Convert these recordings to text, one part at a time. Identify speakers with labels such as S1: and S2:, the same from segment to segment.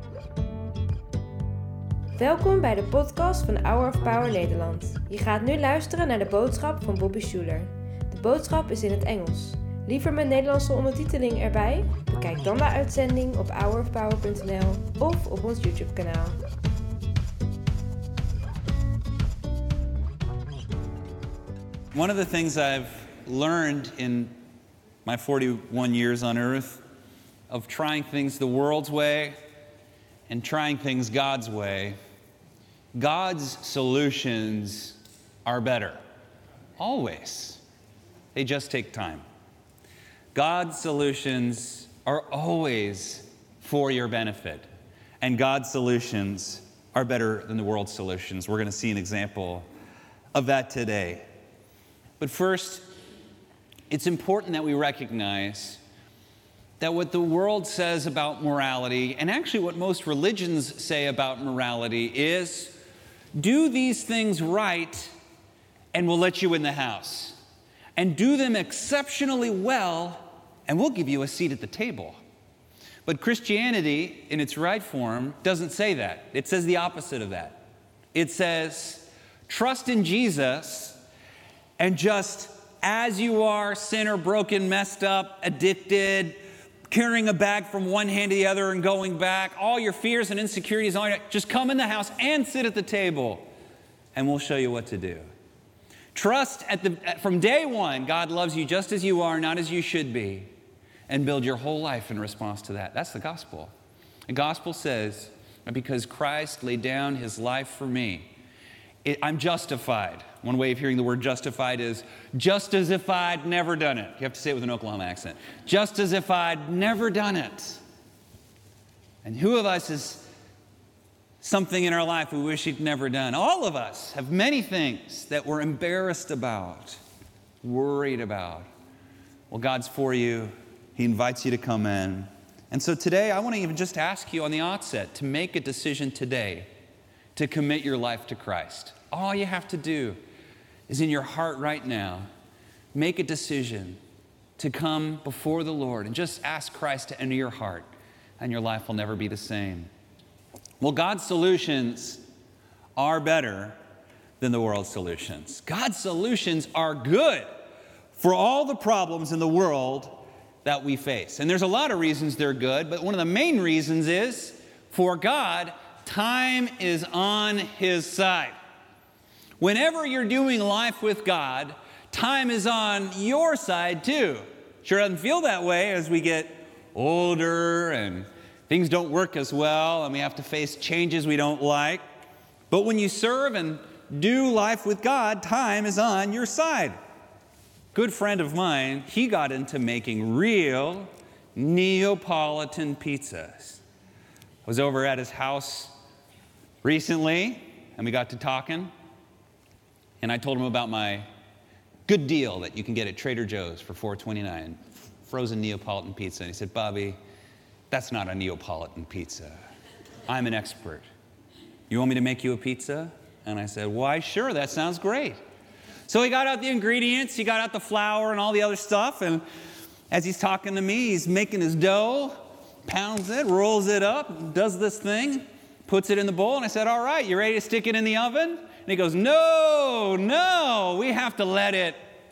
S1: Welkom bij de podcast van Hour of Power Nederland. Je gaat nu luisteren naar de boodschap van Bobby Schuler. De boodschap is in het Engels. Liever met Nederlandse ondertiteling erbij? Bekijk dan de uitzending op hourofpower.nl of op ons YouTube-kanaal.
S2: One of the things I've learned in my 41 years on earth of trying things the world's way and trying things God's way, God's solutions are better. Always. They just take time. God's solutions are always for your benefit. And God's solutions are better than the world's solutions. We're going to see an example of that today. But first, it's important that we recognize that what the world says about morality, and actually what most religions say about morality, is do these things right and we'll let you in the house. And do them exceptionally well and we'll give you a seat at the table. But Christianity, in its right form, doesn't say that. It says the opposite of that. It says, trust in Jesus, and just as you are, sinner, broken, messed up, addicted, carrying a bag from one hand to the other and going back, all your fears and insecurities, just come in the house and sit at the table, and we'll show you what to do. Trust from day one, God loves you just as you are, not as you should be, and build your whole life in response to that. That's the gospel. The gospel says that because Christ laid down his life for me, I'm justified. One way of hearing the word justified is just as if I'd never done it. You have to say it with an Oklahoma accent. Just as if I'd never done it. And who of us has something in our life we wish he'd never done? All of us have many things that we're embarrassed about, worried about. Well, God's for you. He invites you to come in. And so today, I want to even just ask you on the outset to make a decision today to commit your life to Christ. All you have to do is in your heart right now, make a decision to come before the Lord and just ask Christ to enter your heart, and your life will never be the same. Well, God's solutions are better than the world's solutions. God's solutions are good for all the problems in the world that we face. And there's a lot of reasons they're good, but one of the main reasons is, for God, time is on his side. Whenever you're doing life with God, time is on your side too. Sure doesn't feel that way as we get older and things don't work as well and we have to face changes we don't like. But when you serve and do life with God, time is on your side. Good friend of mine, he got into making real Neapolitan pizzas. I was over at his house recently and we got to talking. And I told him about my good deal that you can get at Trader Joe's for $4.29, frozen Neapolitan pizza. And he said, Bobby, that's not a Neapolitan pizza. I'm an expert. You want me to make you a pizza? And I said, why, sure, that sounds great. So he got out the ingredients, he got out the flour and all the other stuff. And as he's talking to me, he's making his dough, pounds it, rolls it up, does this thing, puts it in the bowl. And I said, all right, you ready to stick it in the oven? And he goes, no, we have to let it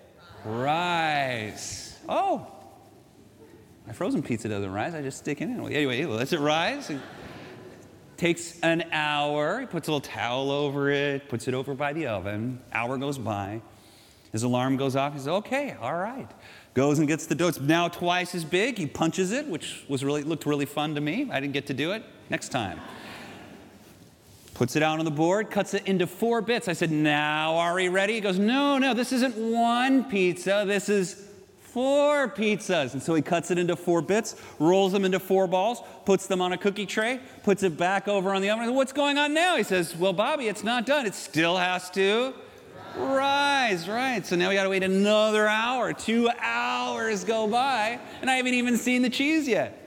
S2: rise. Oh, my frozen pizza doesn't rise. I just stick it in. Well, anyway, he lets it rise. It takes an hour. He puts a little towel over it, puts it over by the oven. Hour goes by. His alarm goes off. He says, okay, all right. Goes and gets the dough. It's now twice as big. He punches it, which looked really fun to me. I didn't get to do it. Next time. Puts it out on the board, cuts it into 4 bits. I said, now are we ready? He goes, no, this isn't one pizza. This is 4 pizzas. And so he cuts it into 4 bits, rolls them into 4 balls, puts them on a cookie tray, puts it back over on the oven. I said, what's going on now? He says, well, Bobby, it's not done. It still has to rise, right? So now we got to wait another hour. 2 hours go by, and I haven't even seen the cheese yet.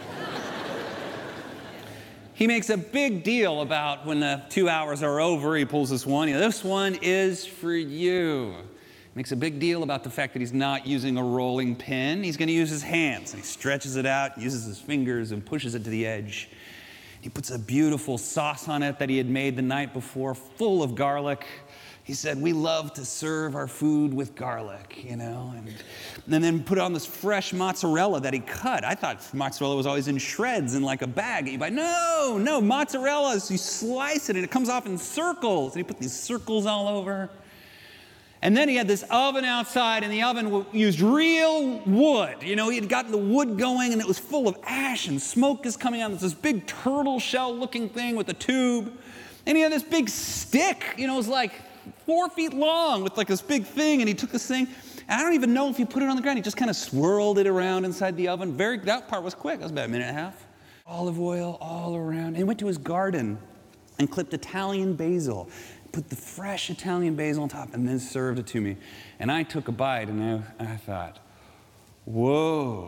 S2: He makes a big deal about when the 2 hours are over, he pulls this one. This one is for you. Makes a big deal about the fact that he's not using a rolling pin. He's going to use his hands. And he stretches it out, uses his fingers, and pushes it to the edge. He puts a beautiful sauce on it that he had made the night before, full of garlic. He said, we love to serve our food with garlic, and then put on this fresh mozzarella that he cut. I thought mozzarella was always in shreds in like a bag. You buy, no, mozzarella, you slice it and it comes off in circles. And he put these circles all over. And then he had this oven outside, and the oven used real wood. He had gotten the wood going, and it was full of ash, and smoke is coming out. There's this big turtle shell-looking thing with a tube. And he had this big stick, it was like 4 feet long with like this big thing, and he took this thing, and I don't even know if he put it on the ground. He just kind of swirled it around inside the oven. That part was quick. That was about a minute and a half. Olive oil all around. And he went to his garden and clipped Italian basil. Put the fresh Italian basil on top, and then served it to me. And I took a bite, and I thought, whoa,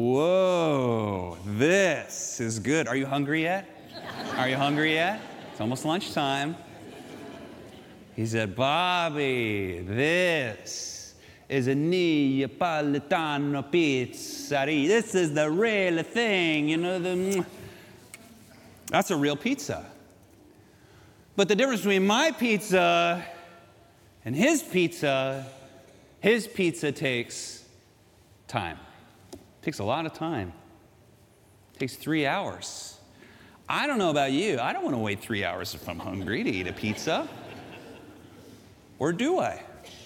S2: this is good. Are you hungry yet? It's almost lunchtime. He said, Bobby, this is a Neapolitano pizzeria. This is the real thing, That's a real pizza. But the difference between my pizza and his pizza takes time. It takes a lot of time. It takes 3 hours. I don't know about you. I don't want to wait 3 hours if I'm hungry to eat a pizza. Or do I?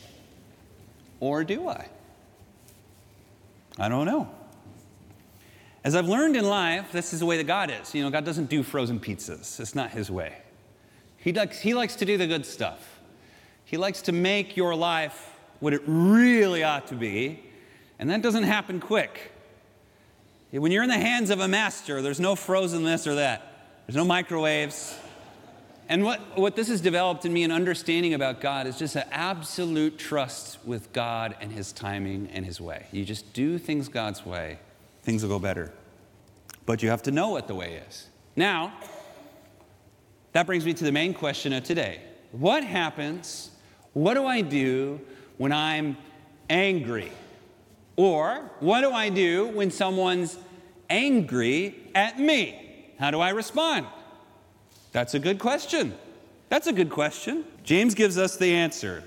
S2: I don't know. As I've learned in life, this is the way that God is. God doesn't do frozen pizzas. It's not his way. He likes to do the good stuff. He likes to make your life what it really ought to be, and that doesn't happen quick. When you're in the hands of a master, there's no frozen this or that. There's no microwaves. And what this has developed in me, an understanding about God, is just an absolute trust with God and his timing and his way. You just do things God's way, things will go better. But you have to know what the way is. Now, that brings me to the main question of today. What happens? What do I do when I'm angry? Or what do I do when someone's angry at me? How do I respond? That's a good question. James gives us the answer.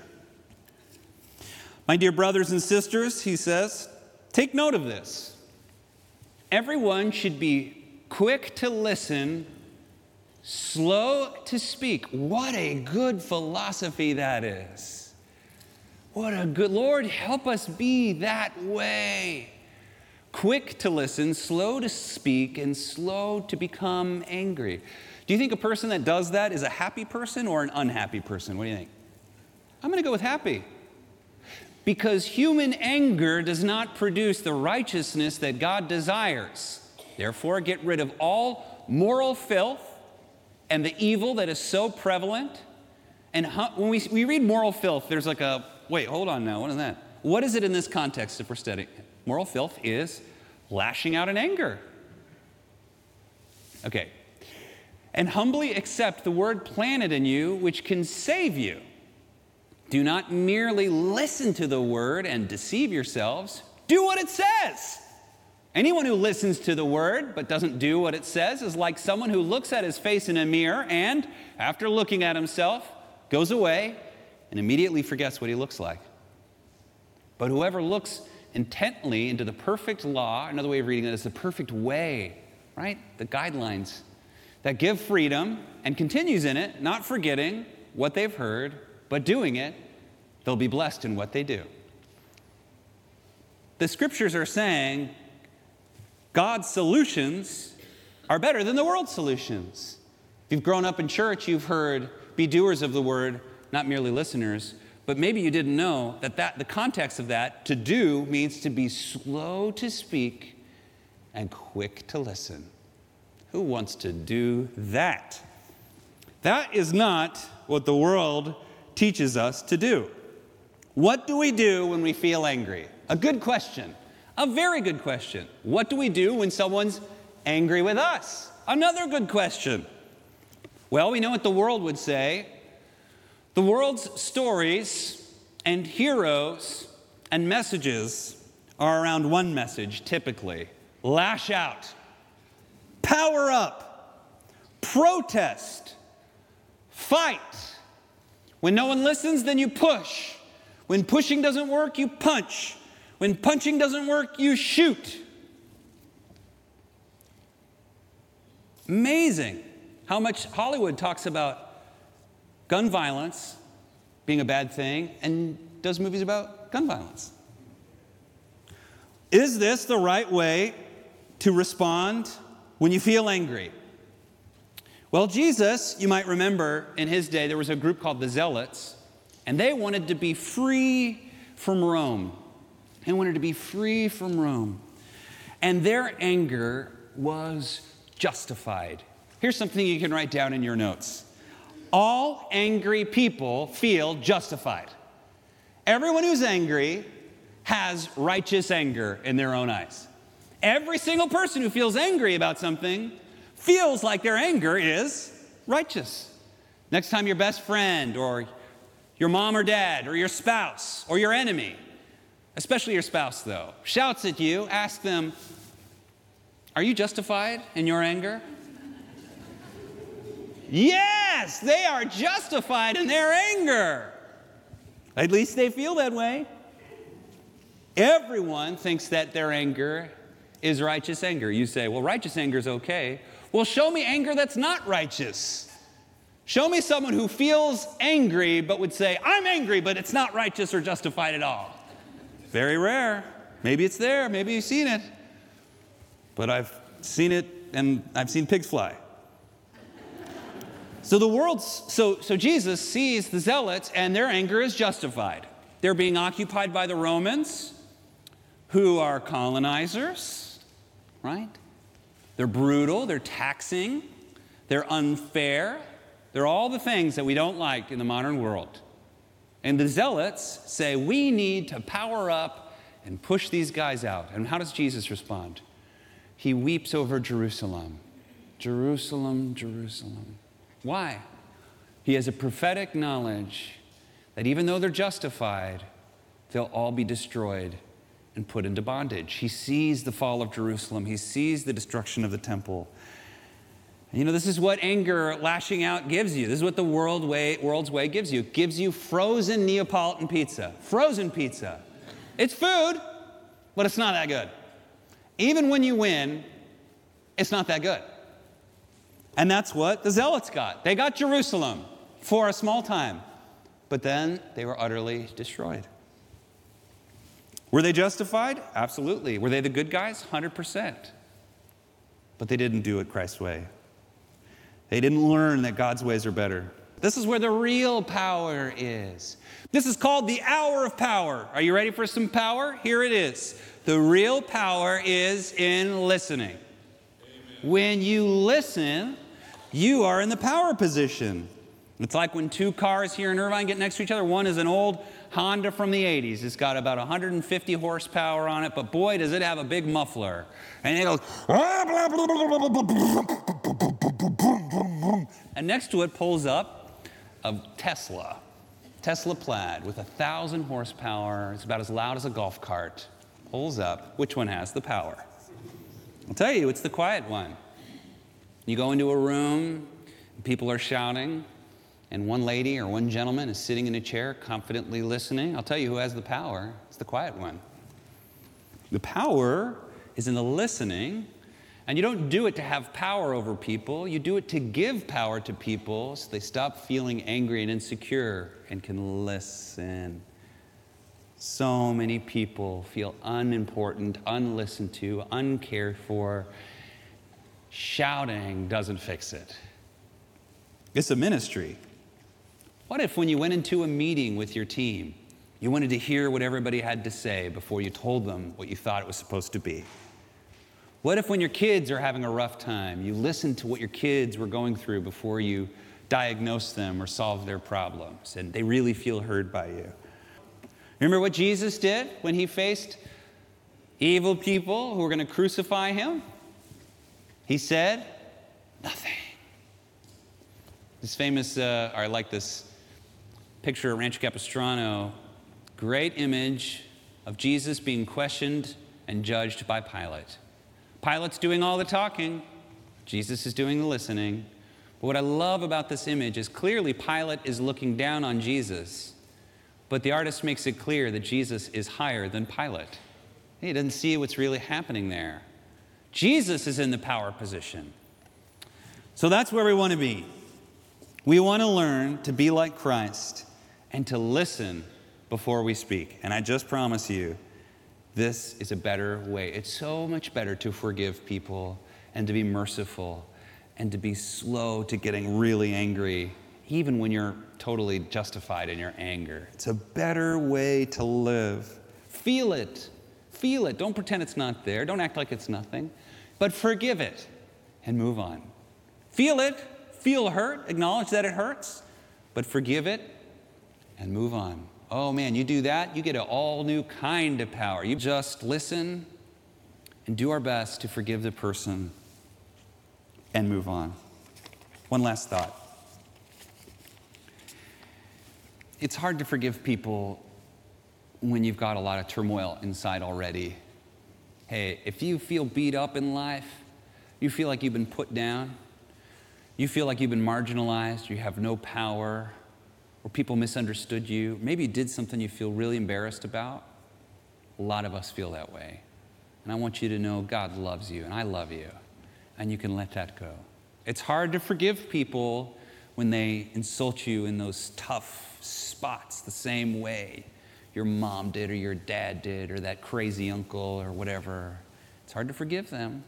S2: My dear brothers and sisters, he says, take note of this. Everyone should be quick to listen, slow to speak. What a good philosophy that is. Lord, help us be that way. Quick to listen, slow to speak, and slow to become angry. Do you think a person that does that is a happy person or an unhappy person? What do you think? I'm going to go with happy. Because human anger does not produce the righteousness that God desires. Therefore, get rid of all moral filth and the evil that is so prevalent. And when we read moral filth, there's like wait, hold on now, what is that? What is it in this context if we're studying? Moral filth is lashing out in anger. Okay. And humbly accept the word planted in you, which can save you. Do not merely listen to the word and deceive yourselves. Do what it says. Anyone who listens to the word but doesn't do what it says is like someone who looks at his face in a mirror and, after looking at himself, goes away and immediately forgets what he looks like. But whoever looks intently into the perfect law, another way of reading that is the perfect way, right? The guidelines that give freedom and continues in it, not forgetting what they've heard, but doing it, they'll be blessed in what they do. The scriptures are saying God's solutions are better than the world's solutions. If you've grown up in church, you've heard, be doers of the word, not merely listeners. But maybe you didn't know that the context of that, to do, means to be slow to speak and quick to listen. Who wants to do that? That is not what the world teaches us to do. What do we do when we feel angry? A good question. A very good question. What do we do when someone's angry with us? Another good question. Well, we know what the world would say. The world's stories and heroes and messages are around one message, typically. Lash out. Power up. protest, fight. When no one listens, then you push. When pushing doesn't work, you punch. When punching doesn't work, you shoot. Amazing how much Hollywood talks about gun violence being a bad thing and does movies about gun violence. Is this the right way to respond when you feel angry? Well, Jesus, you might remember, in his day, there was a group called the Zealots, and they wanted to be free from Rome. They wanted to be free from Rome. And their anger was justified. Here's something you can write down in your notes. All angry people feel justified. Everyone who's angry has righteous anger in their own eyes. Every single person who feels angry about something feels like their anger is righteous. Next time your best friend or your mom or dad or your spouse or your enemy, especially your spouse though, shouts at you, ask them, are you justified in your anger? Yes, they are justified in their anger. At least they feel that way. Everyone thinks that their anger is righteous anger. You say, well, righteous anger is okay. Well, show me anger that's not righteous. Show me someone who feels angry but would say, I'm angry, but it's not righteous or justified at all. Very rare. Maybe it's there. Maybe you've seen it. But I've seen it, and I've seen pigs fly. So Jesus sees the Zealots, and their anger is justified. They're being occupied by the Romans, who are colonizers, right? They're brutal, they're taxing, they're unfair. They're all the things that we don't like in the modern world. And the Zealots say, we need to power up and push these guys out. And how does Jesus respond? He weeps over Jerusalem. Jerusalem, Jerusalem. Why? He has a prophetic knowledge that even though they're justified, they'll all be destroyed and put into bondage. He sees the fall of Jerusalem. He sees the destruction of the temple. And this is what anger, lashing out gives you. This is what the world's way gives you. It gives you frozen Neapolitan pizza. Frozen pizza. It's food, but it's not that good. Even when you win, it's not that good. And that's what the Zealots got. They got Jerusalem for a small time, but then they were utterly destroyed. Were they justified? Absolutely. Were they the good guys? 100%. But they didn't do it Christ's way. They didn't learn that God's ways are better. This is where the real power is. This is called the hour of power. Are you ready for some power? Here it is. The real power is in listening. Amen. When you listen, you are in the power position. It's like when two cars here in Irvine get next to each other. One is an old Honda from the 80s. It's got about 150 horsepower on it, but boy, does it have a big muffler. And it goes, and next to it pulls up a Tesla Plaid with 1,000 horsepower. It's about as loud as a golf cart. Pulls up. Which one has the power? I'll tell you, it's the quiet one. You go into a room, people are shouting, and one lady or one gentleman is sitting in a chair confidently listening. I'll tell you who has the power. It's the quiet one. The power is in the listening, and you don't do it to have power over people. You do it to give power to people so they stop feeling angry and insecure and can listen. So many people feel unimportant, unlistened to, uncared for. Shouting doesn't fix it. It's a ministry. What if when you went into a meeting with your team, you wanted to hear what everybody had to say before you told them what you thought it was supposed to be? What if when your kids are having a rough time, you listened to what your kids were going through before you diagnosed them or solved their problems, and they really feel heard by you? Remember what Jesus did when he faced evil people who were going to crucify him? He said, nothing. This famous, I like this picture of Rancho Capistrano, great image of Jesus being questioned and judged by Pilate. Pilate's doing all the talking. Jesus is doing the listening. But what I love about this image is clearly Pilate is looking down on Jesus, but the artist makes it clear that Jesus is higher than Pilate. He doesn't see what's really happening there. Jesus is in the power position. So that's where we want to be. We want to learn to be like Christ and to listen before we speak. And I just promise you, this is a better way. It's so much better to forgive people and to be merciful and to be slow to getting really angry, even when you're totally justified in your anger. It's a better way to live. Feel it. Feel it. Don't pretend it's not there. Don't act like it's nothing. But forgive it and move on. Feel it. Feel hurt. Acknowledge that it hurts. But forgive it and move on. Oh man, you do that, you get an all new kind of power. You just listen and do our best to forgive the person and move on. One last thought. It's hard to forgive people when you've got a lot of turmoil inside already. Hey, if you feel beat up in life, you feel like you've been put down, you feel like you've been marginalized, you have no power, or people misunderstood you, maybe you did something you feel really embarrassed about. A lot of us feel that way. And I want you to know God loves you, and I love you, and you can let that go. It's hard to forgive people when they insult you in those tough spots the same way your mom did or your dad did or that crazy uncle or whatever. It's hard to forgive them.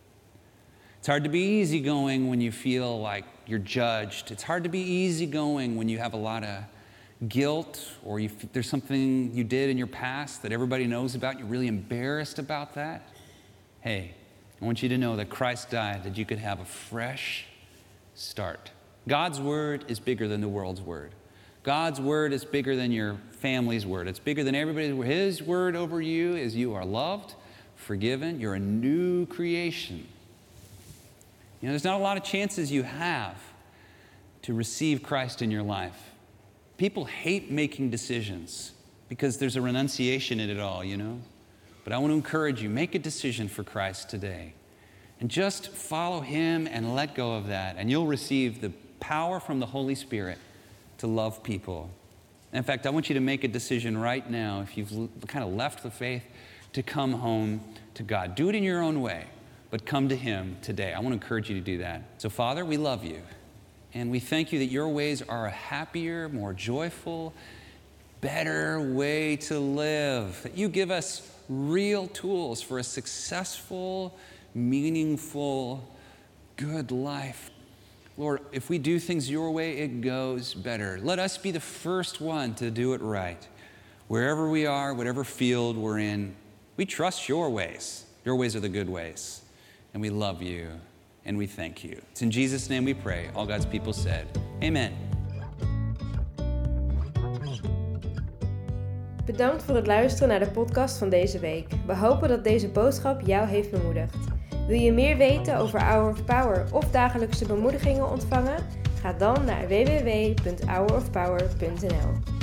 S2: It's hard to be easygoing when you feel like you're judged. It's hard to be easygoing when you have a lot of guilt or there's something you did in your past that everybody knows about. You're really embarrassed about that. Hey, I want you to know that Christ died that you could have a fresh start. God's word is bigger than the world's word. God's word is bigger than your family's word. It's bigger than everybody's word. His word over you is you are loved, forgiven, you're a new creation. You know, there's not a lot of chances you have to receive Christ in your life. People hate making decisions because there's a renunciation in it all, you know. But I want to encourage you, make a decision for Christ today. And just follow him and let go of that. And you'll receive the power from the Holy Spirit to love people. In fact, I want you to make a decision right now, if you've kind of left the faith, to come home to God. Do it in your own way, but come to him today. I want to encourage you to do that. So, Father, we love you. And we thank you that your ways are a happier, more joyful, better way to live. That you give us real tools for a successful, meaningful, good life. Lord, if we do things your way, it goes better. Let us be the first one to do it right. Wherever we are, whatever field we're in, we trust your ways. Your ways are the good ways. And we love you, and we thank you. It's in Jesus' name we pray. All God's people said, amen.
S1: Bedankt voor het luisteren naar de podcast van deze week. We hopen dat deze boodschap jou heeft bemoedigd. Wil je meer weten over Hour of Power of dagelijkse bemoedigingen ontvangen? Ga dan naar www.hourofpower.nl.